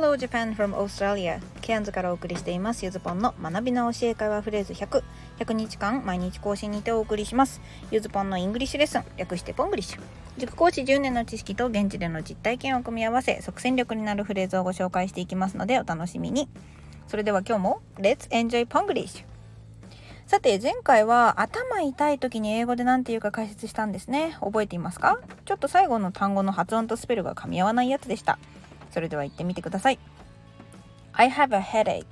Hello Japan from Australia ケアンズからお送りしていますゆずぽんの学びの教え会話フレーズ100日間毎日更新にてお送りします。ゆずぽんのイングリッシュレッスン、略してポングリッシュ。塾講師10年の知識と現地での実体験を組み合わせ即戦力になるフレーズをご紹介していきますのでお楽しみに。それでは今日も Let's enjoy ポングリッシュ。さて前回は頭痛い時に英語で何て言うか解説したんですね。覚えていますか？ちょっと最後の単語の発音とスペルが噛み合わないやつでした。それでは言ってみてください。 I have a headache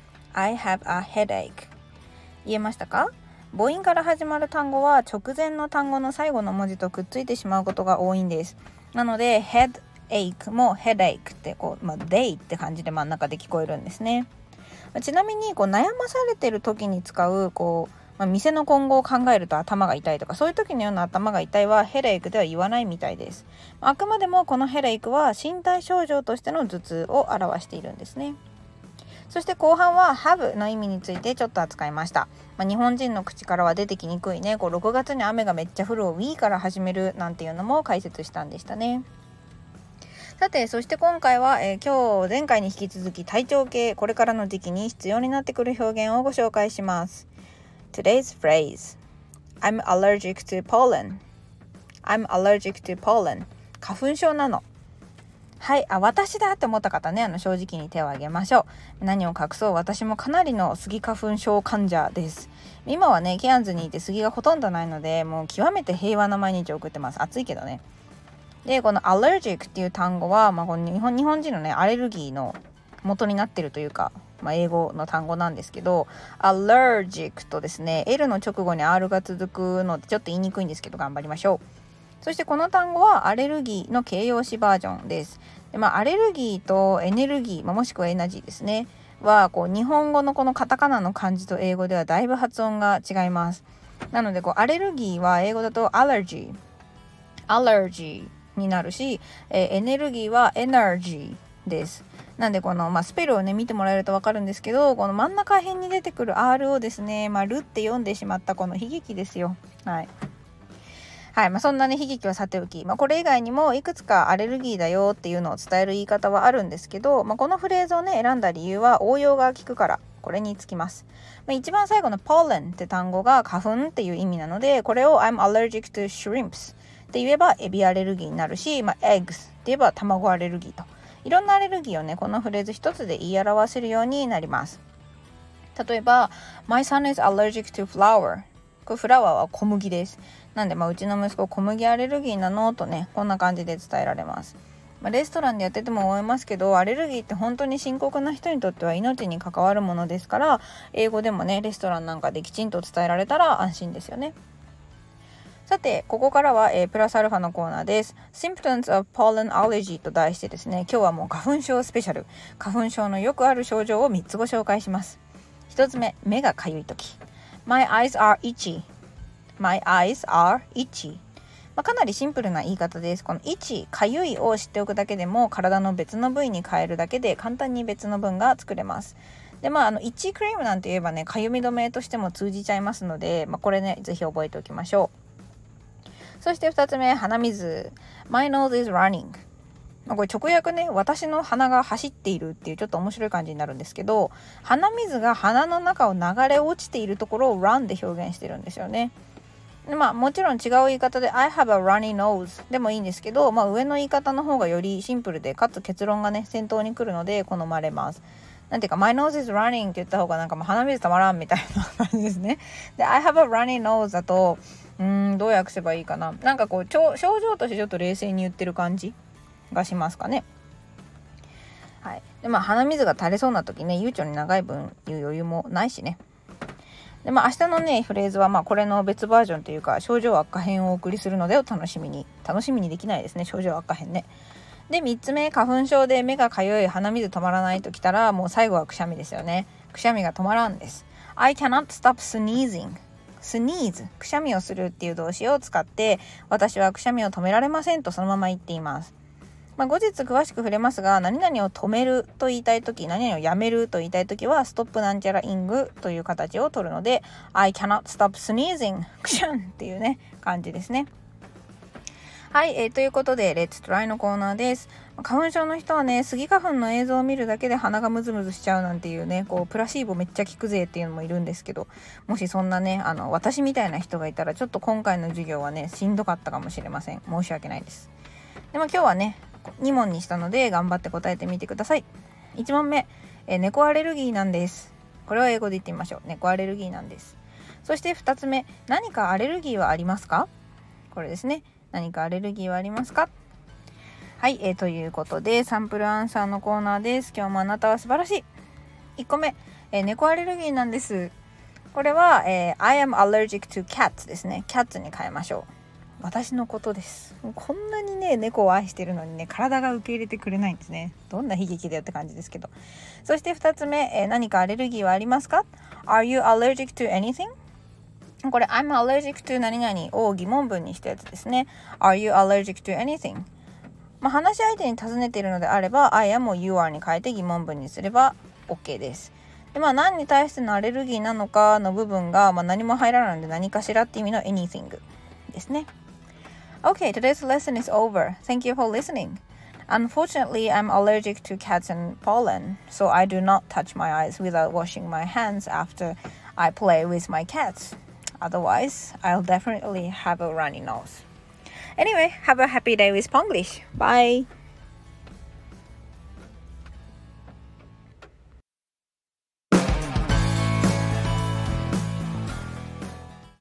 I have a headache 言えましたか？母音から始まる単語は直前の単語の最後の文字とくっついてしまうことが多いんです。なので headache も headache ってday って感じで真ん中で聞こえるんですね。ちなみに悩まされてる時に使う店の今後を考えると頭が痛いとかそういう時のような頭が痛いはヘレイクでは言わないみたいです。あくまでもこのヘレイクは身体症状としての頭痛を表しているんですね。そして後半は have の意味についてちょっと扱いました。日本人の口からは出てきにくいね6月に雨がめっちゃ降るを We から始めるなんていうのも解説したんでしたね。さてそして今回は、今日前回に引き続き体調系これからの時期に必要になってくる表現をご紹介します。Today's phrase I'm allergic to pollen I'm allergic to pollen 花粉症なの。はい、私だって思った方ね正直に手を挙げましょう。何を隠そう私もかなりのスギ花粉症患者です。今はねケアンズにいてスギがほとんどないのでもう極めて平和な毎日を送ってます。暑いけどね。でこの allergic っていう単語は、この日本人のねアレルギーの元になってるというか英語の単語なんですけど allergic とですね L の直後に R が続くのでちょっと言いにくいんですけど頑張りましょう。そしてこの単語はアレルギーの形容詞バージョンです。で、アレルギーとエネルギー、もしくはエナジーですねは日本語のこのカタカナの漢字と英語ではだいぶ発音が違います。なのでアレルギーは英語だとアレルギーになるし、エネルギーはエナジーです。なんでスペルをね見てもらえると分かるんですけどこの真ん中辺に出てくる R をですねルって読んでしまったこの悲劇ですよ。はい、そんなね悲劇はさておき、これ以外にもいくつかアレルギーだよっていうのを伝える言い方はあるんですけど、このフレーズをね選んだ理由は応用が効くからこれにつきます。一番最後の pollen って単語が花粉っていう意味なのでこれを I'm allergic to shrimps って言えばエビアレルギーになるし、eggs って言えば卵アレルギーといろんなアレルギーをねこのフレーズ一つで言い表せるようになります。例えば My son is allergic to flour これフラワーは小麦です。なんでうちの息子小麦アレルギーなのとねこんな感じで伝えられます。レストランでやってても思いますけどアレルギーって本当に深刻な人にとっては命に関わるものですから英語でもねレストランなんかできちんと伝えられたら安心ですよね。さてここからは、プラスアルファのコーナーです。 Symptoms of Pollen Allergy と題してですね今日はもう花粉症スペシャル花粉症のよくある症状を3つご紹介します。1つ目目がかゆいとき My eyes are itchy My eyes are itchy、かなりシンプルな言い方です。このitchyかゆいを知っておくだけでも体の別の部位に変えるだけで簡単に別の文が作れます。でイッチクリームなんて言えばねかゆみ止めとしても通じちゃいますので、これねぜひ覚えておきましょう。そして2つ目鼻水 My nose is running、これ直訳ね私の鼻が走っているっていうちょっと面白い感じになるんですけど鼻水が鼻の中を流れ落ちているところを run で表現してるんですよね。でもちろん違う言い方で I have a runny nose でもいいんですけど、上の言い方の方がよりシンプルでかつ結論がね先頭に来るので好まれます。なんていうか My nose is running って言った方が鼻水たまらんみたいな感じですね。で I have a runny nose だとどう訳せばいいかな。症状としてちょっと冷静に言ってる感じがしますかね。はい。で鼻水が垂れそうな時ね悠長に長い分言う余裕もないしね。で明日のねフレーズはこれの別バージョンというか症状悪化編をお送りするのでお楽しみにできないですね症状悪化編ね。で3つ目花粉症で目がかゆい鼻水止まらないときたらもう最後はくしゃみですよね。くしゃみが止まらんです。 I cannot stop sneezing sneeze くしゃみをするっていう動詞を使って私はくしゃみを止められませんとそのまま言っています。後日詳しく触れますが何々を止めると言いたいとき何々をやめると言いたいときはストップなんちゃらイングという形を取るので I cannot stop sneezing くしゃんっていうね感じですね。 はい、ということでレッツトライのコーナーです。花粉症の人はね、スギ花粉の映像を見るだけで鼻がムズムズしちゃうなんていうね、こうプラシーボめっちゃ効くぜっていうのもいるんですけど、もしそんなね私みたいな人がいたらちょっと今回の授業はねしんどかったかもしれません。申し訳ないです。でも今日はね2問にしたので頑張って答えてみてください。1問目、猫アレルギーなんです。これは英語で言ってみましょう。猫アレルギーなんです。そして2つ目、何かアレルギーはありますか？これですね。何かアレルギーはありますか？はい、ということでサンプルアンサーのコーナーです。今日もあなたは素晴らしい。1個目、猫アレルギーなんです。これは、I am allergic to cats ですね。cats に変えましょう。私のことです。こんなにね猫を愛してるのにね体が受け入れてくれないんですね。どんな悲劇だよって感じですけど。そして2つ目、何かアレルギーはありますか？ Are you allergic to anything？これ I'm allergic to 何々を疑問文にしたやつですね。 Are you allergic to anything？ 話し相手に尋ねているのであれば I am を you are に変えて疑問文にすれば OK です。で何に対してのアレルギーなのかの部分が、何も入らないので何かしらって意味の anything ですね。Okay, today's lesson is over. Thank you for listening. Unfortunately, I'm allergic to cats and pollen, so I do not touch my eyes without washing my hands after I play with my cats.Otherwise, I'll definitely have a runny nose. Anyway, have a happy day with Ponglish. Bye!